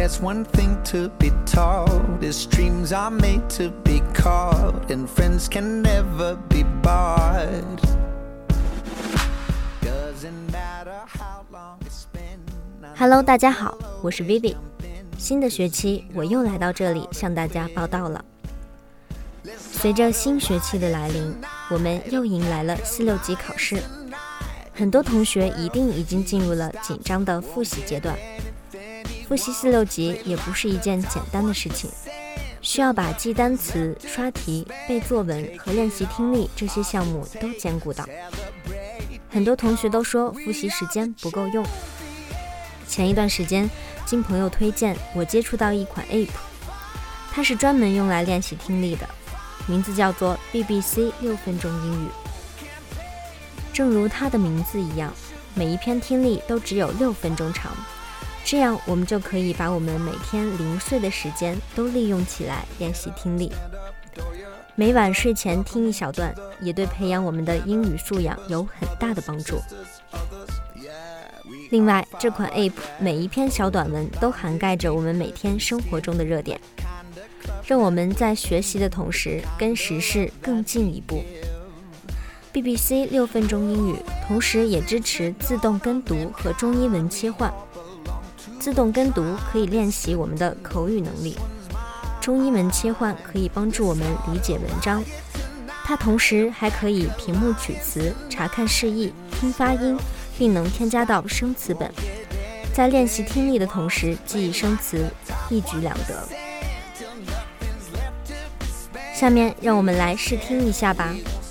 there's one thing to be taught, is dreams are made to be caught, and friends can never be bought. Doesn't matter how long it's been.Hello， 大家好，我是 Vivi。新的学期我又来到这里向大家报道了。随着新学期的来临，我们又迎来了4、6级考试。很多同学一定已经进入了紧张的复习阶段。复习4、6级也不是一件简单的事情，需要把记单词、刷题、背作文和练习听力这些项目都兼顾到。很多同学都说复习时间不够用。前一段时间，经朋友推荐，我接触到一款 App， 它是专门用来练习听力的，名字叫做 BBC 6分钟英语。正如它的名字一样，每一篇听力都只有6分钟长，这样我们就可以把我们每天零碎的时间都利用起来练习听力。每晚睡前听一小段，也对培养我们的英语素养有很大的帮助。另外，这款 App 每一篇小短文都涵盖着我们每天生活中的热点，让我们在学习的同时跟时事更进一步。BBC 6分钟英语同时也支持自动跟读和中英文切换。自动跟读可以练习我们的口语能力，中英文切换可以帮助我们理解文章。它同时还可以屏幕取词、查看释义、听发音，并能添加到生词本，在练习听力的同时记忆生词，一举两得。下面让我们来试听一下吧。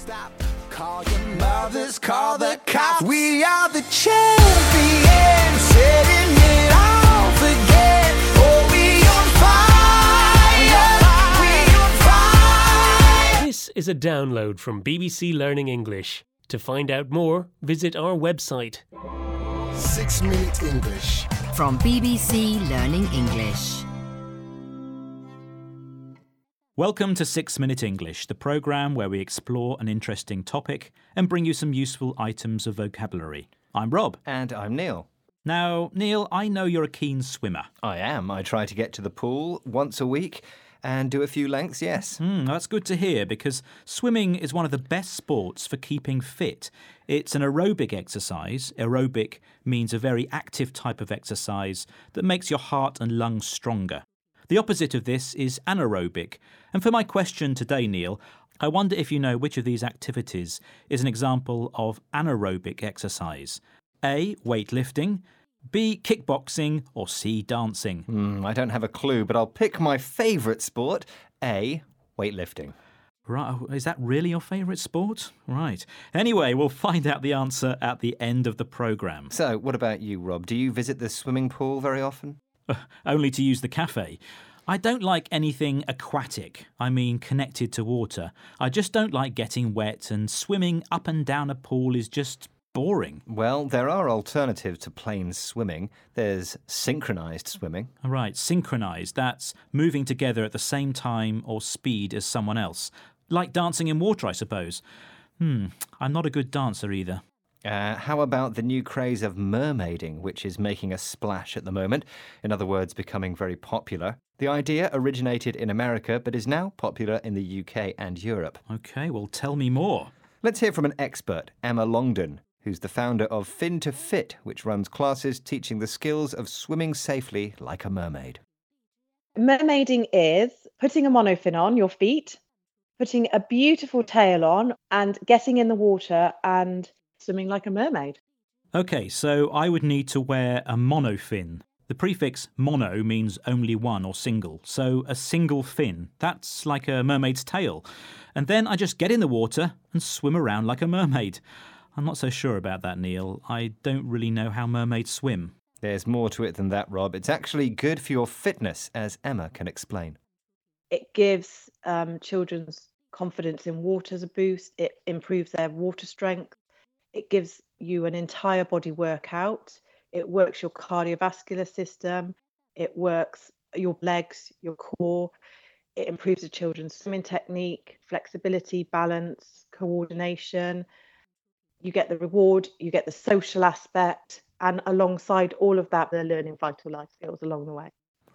Call the cops. We are the champions, setting it off again. Oh, we on fire, we on fire. This is a download from BBC Learning English. To find out more, visit our website. 6-Minute English from BBC Learning English. Welcome to 6-Minute English, the programme where we explore an interesting topic and bring you some useful items of vocabulary. I'm Rob. And I'm Neil. Now, Neil, I know you're a keen swimmer. I am. I try to get to the pool once a week and do a few lengths, yes. That's good to hear, because swimming is one of the best sports for keeping fit. It's an aerobic exercise. Aerobic means a very active type of exercise that makes your heart and lungs stronger. The opposite of this is anaerobic. And for my question today, Neil, I wonder if you know which of these activities is an example of anaerobic exercise. A, weightlifting, B, kickboxing, or C, dancing. I don't have a clue, but I'll pick my favourite sport, A, weightlifting. Right, is that really your favourite sport? Right. Anyway, we'll find out the answer at the end of the programme. So, what about you, Rob? Do you visit the swimming pool very often? Only to use the cafe. I don't like anything aquatic, I mean connected to water. I just don't like getting wet, and swimming up and down a pool is just boring. Well, there are alternatives to plain swimming. There's synchronised swimming. Right, synchronised. That's moving together at the same time or speed as someone else. Like dancing in water, I suppose. I'm not a good dancer either. How about the new craze of mermaiding, which is making a splash at the moment? In other words, becoming very popular. The idea originated in America, but is now popular in the UK and Europe. OK, well, tell me more. Let's hear from an expert, Emma Longdon, who's the founder of Fin to Fit, which runs classes teaching the skills of swimming safely like a mermaid. Mermaiding is putting a monofin on your feet, putting a beautiful tail on, and getting in the water and swimming like a mermaid. OK, so I would need to wear a monofin. The prefix mono means only one or single, so a single fin. That's like a mermaid's tail. And then I just get in the water and swim around like a mermaid. I'm not so sure about that, Neil. I don't really know how mermaids swim. There's more to it than that, Rob. It's actually good for your fitness, as Emma can explain. It gives children's confidence in water as a boost. It improves their water strength. It gives you an entire body workout. It works your cardiovascular system. It works your legs, your core. It improves the children's swimming technique, flexibility, balance, coordination. You get the reward, you get the social aspect, and alongside all of that, they're learning vital life skills along the way.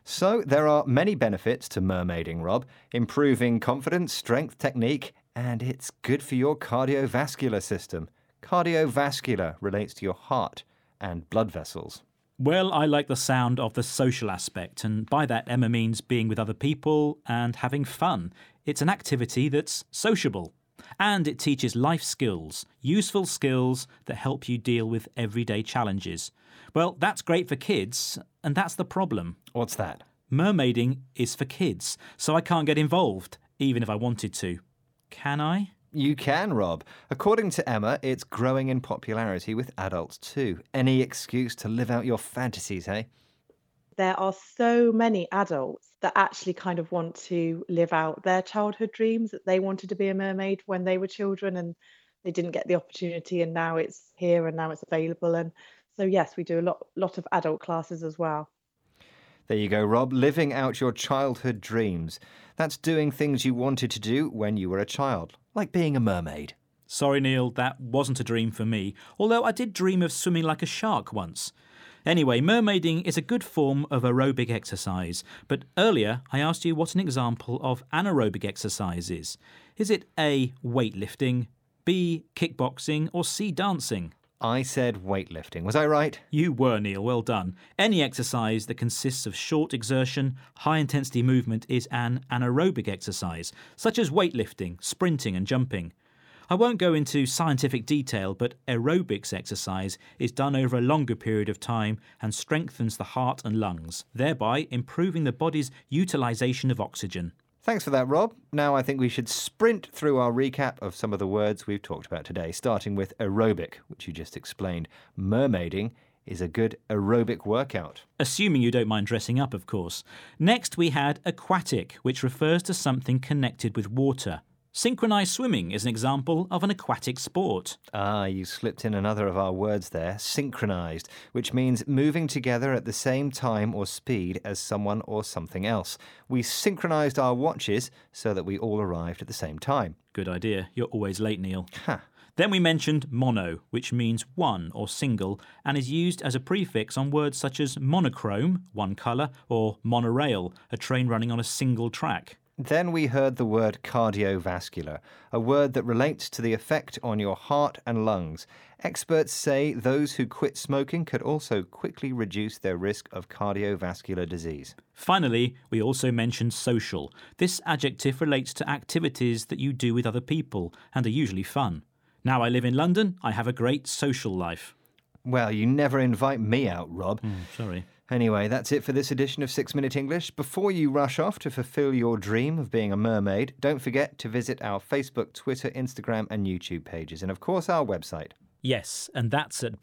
So there are many benefits to mermaiding, Rob. Improving confidence, strength, technique, and it's good for your cardiovascular system. Cardiovascular relates to your heart and blood vessels. Well, I like the sound of the social aspect, and by that Emma means being with other people and having fun. It's an activity that's sociable. And it teaches life skills, useful skills that help you deal with everyday challenges. Well, that's great for kids, and that's the problem. What's that? Mermaiding is for kids, so I can't get involved, even if I wanted to. Can I? You can, Rob. According to Emma, it's growing in popularity with adults too. Any excuse to live out your fantasies, eh? There are so many adults that actually kind of want to live out their childhood dreams, that they wanted to be a mermaid when they were children and they didn't get the opportunity, and now it's here and now it's available. And so, yes, we do a lot of adult classes as well. There you go, Rob. Living out your childhood dreams. That's doing things you wanted to do when you were a child, like being a mermaid. Sorry, Neil, that wasn't a dream for me, although I did dream of swimming like a shark once. Anyway, mermaiding is a good form of aerobic exercise, but earlier I asked you what an example of anaerobic exercise is. Is it A, weightlifting, B, kickboxing, or C, dancing? I said weightlifting. Was I right? You were, Neil. Well done. Any exercise that consists of short exertion, high-intensity movement is an anaerobic exercise, such as weightlifting, sprinting and jumping. I won't go into scientific detail, but aerobics exercise is done over a longer period of time and strengthens the heart and lungs, thereby improving the body's utilisation of oxygen. Thanks for that, Rob. Now I think we should sprint through our recap of some of the words we've talked about today, starting with aerobic, which you just explained. Mermaiding is a good aerobic workout. Assuming you don't mind dressing up, of course. Next we had aquatic, which refers to something connected with water. Synchronised swimming is an example of an aquatic sport. Ah, you slipped in another of our words there, synchronised, which means moving together at the same time or speed as someone or something else. We synchronised our watches so that we all arrived at the same time. Good idea. You're always late, Neil. Ha! Then we mentioned mono, which means one or single, and is used as a prefix on words such as monochrome, one colour, or monorail, a train running on a single track. Then we heard the word cardiovascular, a word that relates to the effect on your heart and lungs. Experts say those who quit smoking could also quickly reduce their risk of cardiovascular disease. Finally, we also mentioned social. This adjective relates to activities that you do with other people and are usually fun. Now I live in London, I have a great social life. Well, you never invite me out, Rob. Sorry. Anyway, that's it for this edition of 6 Minute English. Before you rush off to fulfill your dream of being a mermaid, don't forget to visit our Facebook, Twitter, Instagram and YouTube pages, and of course our website. Yes, and that's at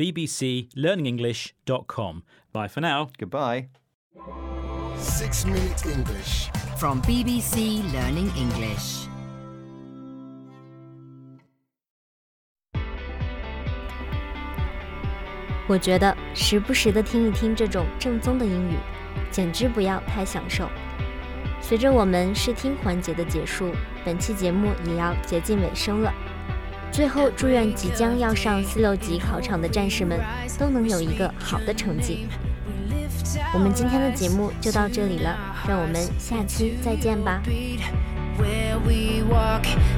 bbclearningenglish.com. Bye for now. Goodbye. 6 Minute English. From BBC Learning English. 我觉得时不时的听一听这种正宗的英语，简直不要太享受。随着我们试听环节的结束，本期节目也要接近尾声了。最后，祝愿即将要上4、6级考场的战士们都能有一个好的成绩。我们今天的节目就到这里了，让我们下期再见吧。 Where we walk